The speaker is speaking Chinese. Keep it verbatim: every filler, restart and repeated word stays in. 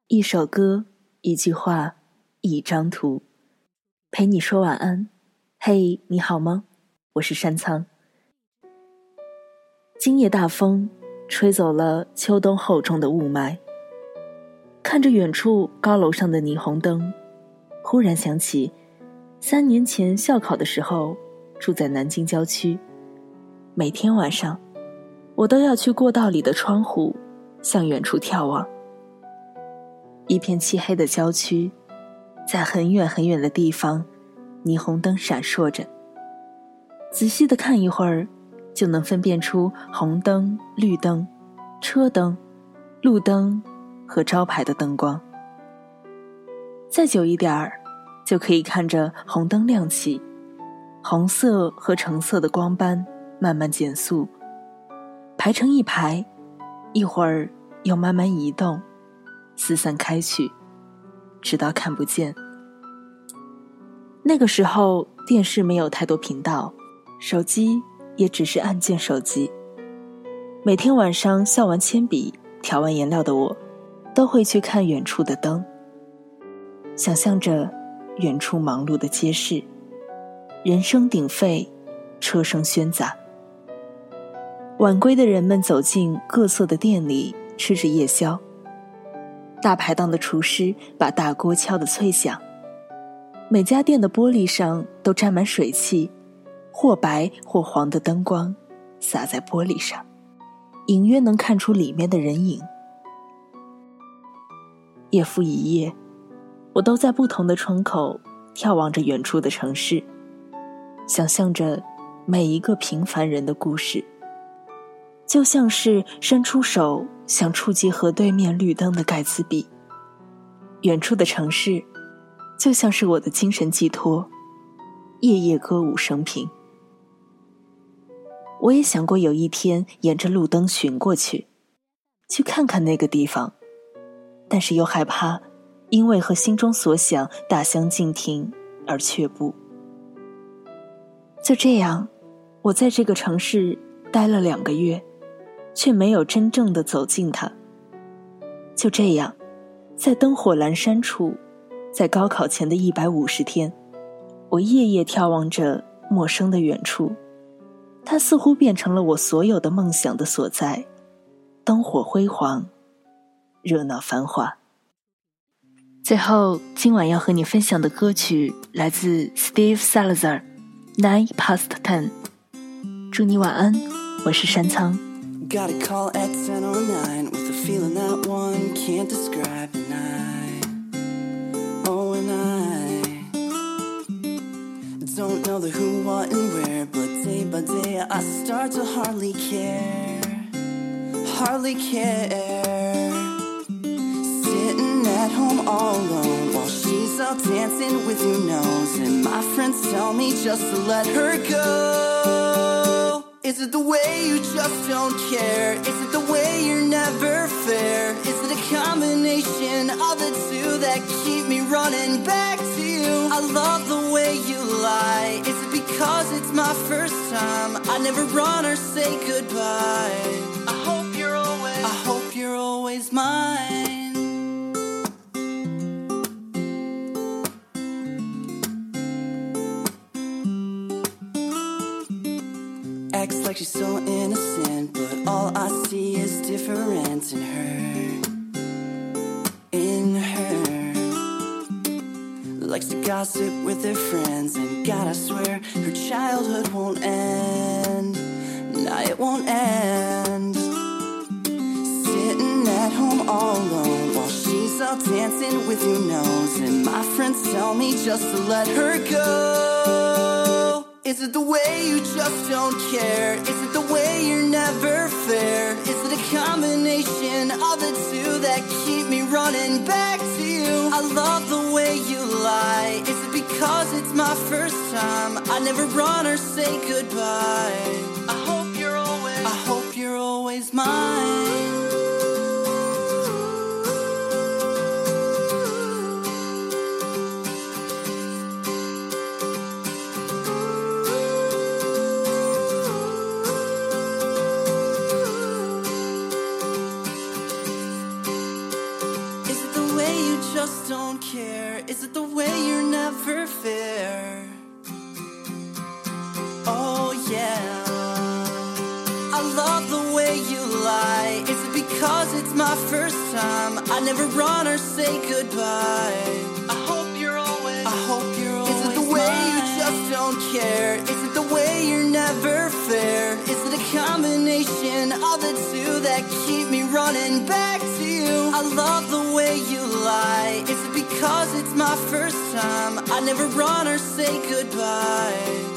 一首歌，一句话，一张图，陪你说晚安。嘿，你好吗？我是山仓。今夜大风吹走了秋冬厚重的雾霾，看着远处高楼上的霓虹灯，忽然想起三年前校考的时候，住在南京郊区，每天晚上我都要去过道里的窗户向远处眺望。一片漆黑的郊区，在很远很远的地方，霓虹灯闪烁着，仔细地看一会儿，就能分辨出红灯、绿灯、车灯、路灯和招牌的灯光。再久一点儿，就可以看着红灯亮起，红色和橙色的光斑慢慢减速，排成一排，一会儿又慢慢移动，四散开去，直到看不见。那个时候电视没有太多频道，手机也只是按键手机。每天晚上削完铅笔调完颜料的我，都会去看远处的灯，想象着远处忙碌的街市，人声鼎沸，车声喧杂。晚归的人们走进各色的店里，吃着夜宵，大排档的厨师把大锅敲得脆响，每家店的玻璃上都沾满水汽，或白或黄的灯光洒在玻璃上，隐约能看出里面的人影。夜复一夜，我都在不同的窗口眺望着远处的城市，想象着每一个平凡人的故事，就像是伸出手想触及河对面绿灯的盖茨比。远处的城市就像是我的精神寄托，夜夜歌舞升平。我也想过有一天沿着路灯寻过去，去看看那个地方，但是又害怕因为和心中所想大相径庭而却步。就这样，我在这个城市待了两个月，却没有真正的走进它。就这样，在灯火阑珊处，在高考前的一百五十天，我夜夜眺望着陌生的远处，它似乎变成了我所有的梦想的所在，灯火辉煌，热闹繁华。最后，今晚要和你分享的歌曲来自 Steve Salazar Nine Past Ten。 祝你晚安，我是山仓。 Got a call at ten oh nine with a feeling that one can't describe. And I, oh and I don't know the who, what and where, but day by day I start to hardly care, hardly care. Sitting at home all alone while she's out dancing with your nose, and my friends tell me just to let her go. Is it the way you just don't care? Is it the way you're never fair? Is it a combination of the two that keep me running back to you? I love the way you lie. Is it because it's my first time? I never run or say goodbye. I hope you're always, I hope you're always mine. Acts like she's so innocent, but all I see is difference in her, in her. Likes to gossip with her friends, and God, I swear her childhood won't end. Nah, it won't end. Sitting at home all alone while she's out dancing with your nose, and my friends tell me just to let her go. Is it the way you just don't care? Is it the way you're never fair? Is it a combination of the two that keep me running back to you? I love the way you lie. Is it because it's my first time? I never run or say goodbye. I hope you're always, I hope you're always mine. Is it the way you just don't care? Is it the way you're never fair? Oh yeah, I love the way you lie. Is it because it's my first time? I never run or say goodbye. I hope you're always, I hope you're always Is it the way mine? You just don't care? Is it the way you're never fair? Is it a combination of the two that keep me running back to you? I love the way you lie. Is it because it's my first time? I never run or say goodbye.